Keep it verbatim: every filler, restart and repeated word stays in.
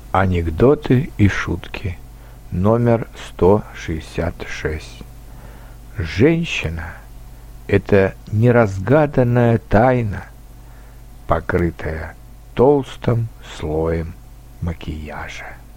Анекдоты и шутки. Номер сто шестьдесят шесть. Женщина – это неразгаданная тайна, покрытая толстым слоем макияжа.